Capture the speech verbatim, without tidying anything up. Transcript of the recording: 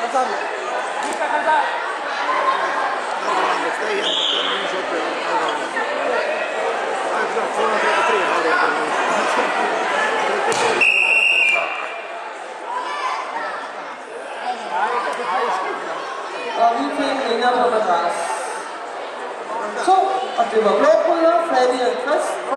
Og vi fik vinder på madras. To, og det var blå bryder, Flavia Chris.